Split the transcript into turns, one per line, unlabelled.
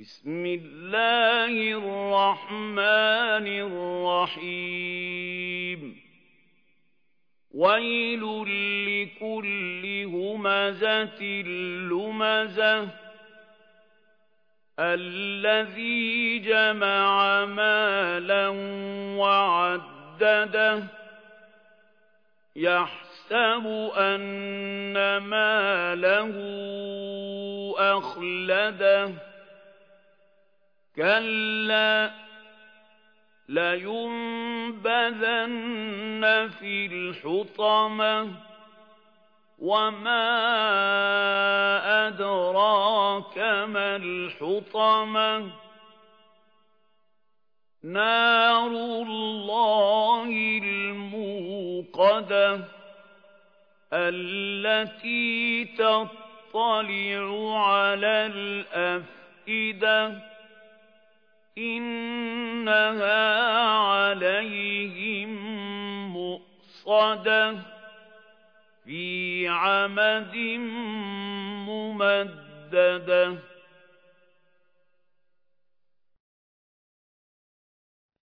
بسم الله الرحمن الرحيم ويل لكل همزة لمزة الذي جمع مالا وعدده يحسب أن ماله أخلده كلا لينبذن في الحطمة وما أدراك ما الحطمة نار الله الموقدة التي تطلع على الأفئدة إنها عليهم مؤصدة في عمد ممددة